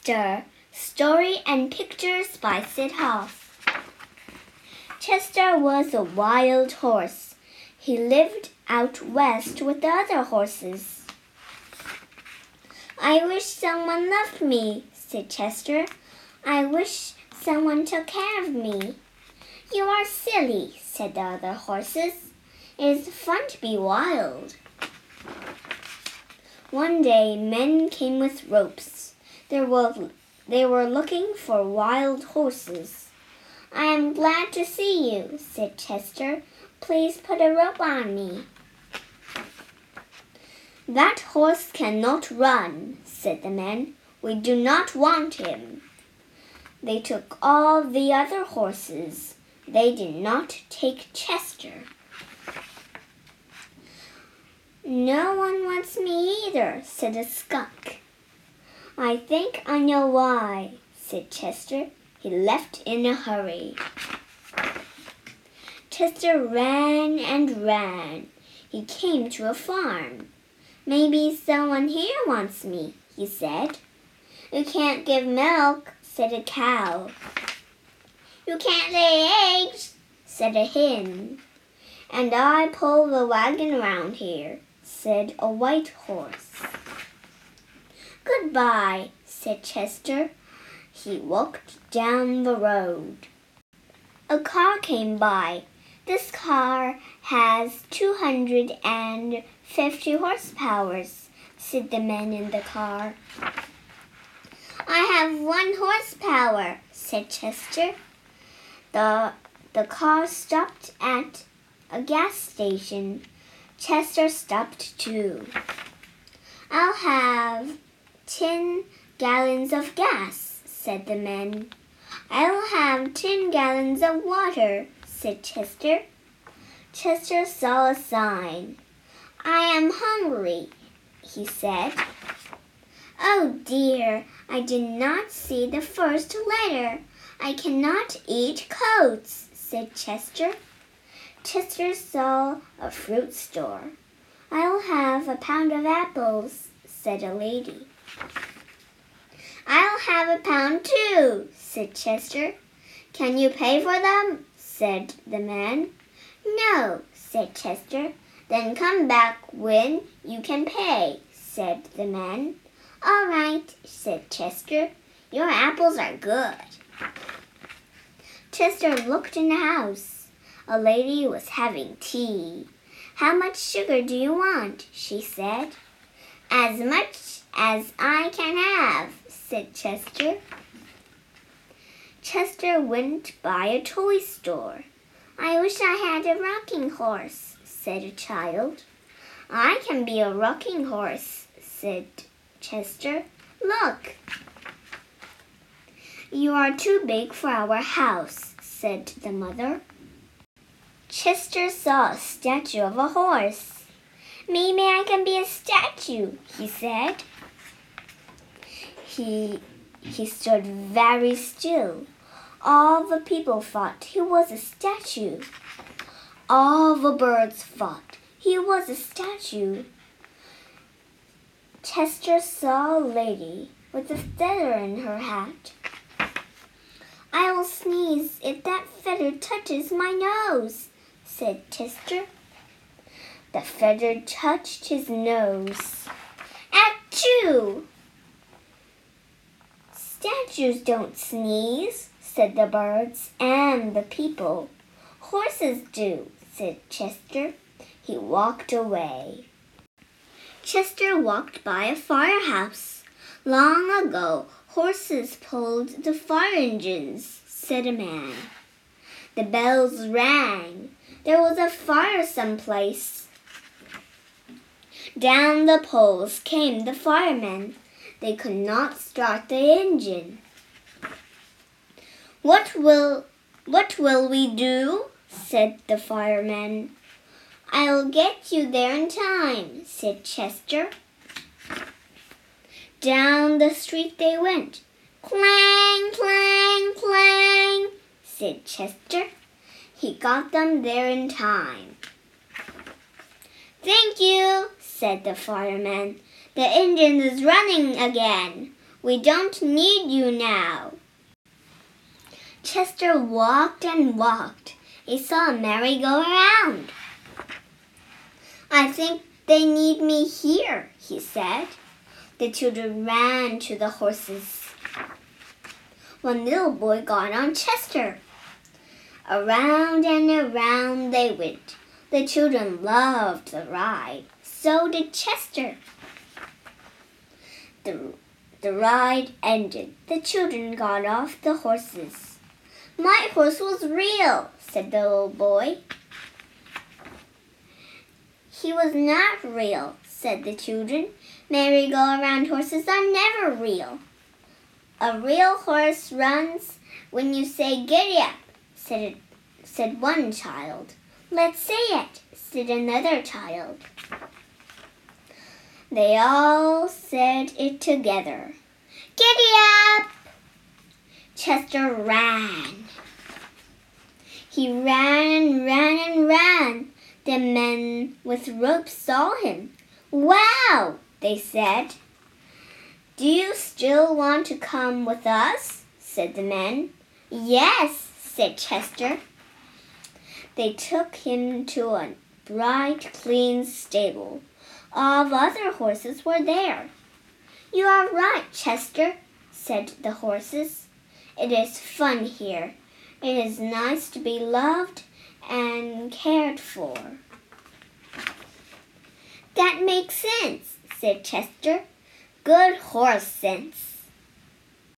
Chester, Story and Pictures by Sid Hoff. Chester was a wild horse. He lived out west with the other horses. "I wish someone loved me," said Chester. "I wish someone took care of me." "You are silly," said the other horses. "It is fun to be wild." One day men came with ropes. They were looking for wild horses. "I am glad to see you," said Chester. "Please put a rope on me." "That horse cannot run," said the men. "We do not want him." They took all the other horses. They did not take Chester. "No one wants me either," said a skunk. "I think I know why," said Chester. He left in a hurry. Chester ran and ran. He came to a farm. "Maybe someone here wants me," he said. "You can't give milk," said a cow. "You can't lay eggs," said a hen. "And I pull the wagon around here," said a white horse. "Goodbye," said Chester. He walked down the road. A car came by. "This car has 250 horsepower," said the man in the car. "I have 1 horsepower," said Chester. The car stopped at a gas station. Chester stopped too. "I'll have 10 gallons of gas," said the man. "I'll have 10 gallons of water," said Chester. Chester saw a sign. "I am hungry," he said. "Oh dear, I did not see the first letter. I cannot eat coats," said Chester. Chester saw a fruit store. "I'll have a pound of apples," said a lady. "I'll have a pound too," said Chester. "Can you pay for them?" said the man. "No," said Chester. "Then come back when you can pay," said the man. "All right," said Chester. "Your apples are good." Chester looked in the house. A lady was having tea. "How much sugar do you want?" she said. "As much as I can have," said Chester. Chester went by a toy store. "I wish I had a rocking horse," said a child. "I can be a rocking horse," said Chester. "Look." "You are too big for our house," said the mother. Chester saw a statue of a horse. "Maybe I can be a statue," he said. He stood very still. All the people thought he was a statue. All the birds thought he was a statue. Chester saw a lady with a feather in her hat. "I will sneeze if that feather touches my nose," said Chester. The feather touched his nose. "Achoo!" "Statues don't sneeze," said the birds and the people. "Horses do," said Chester. He walked away. Chester walked by a firehouse. "Long ago, horses pulled the fire engines," said a man. The bells rang. There was a fire someplace. Down the poles came the firemen. They could not start the engine. What will we do?" said the fireman. "I'll get you there in time," said Chester. Down the street they went. "Clang, clang, clang," said Chester. He got them there in time. "Thank you," said the fireman. "The engine is running again. We don't need you now." Chester walked and walked. He saw a merry-go-round. "I think they need me here," he said. The children ran to the horses. One little boy got on Chester. Around and around they went. The children loved the ride. So did Chester. The ride ended. The children got off the horses. "My horse was real," said the little boy. "He was not real," said the children. "Merry-go-round horses are never real." "A real horse runs when you say giddy up," said one child. "Let's say it," said another child. They all said it together. "Giddy up!" Chester ran. He ran and ran and ran. The men with ropes saw him. "Wow!" they said. "Do you still want to come with us?" said the men. "Yes," said Chester. They took him to a bright, clean stable. All the other horses were there. "You are right, Chester," said the horses. "It is fun here. It is nice to be loved and cared for." "That makes sense," said Chester. "Good horse sense."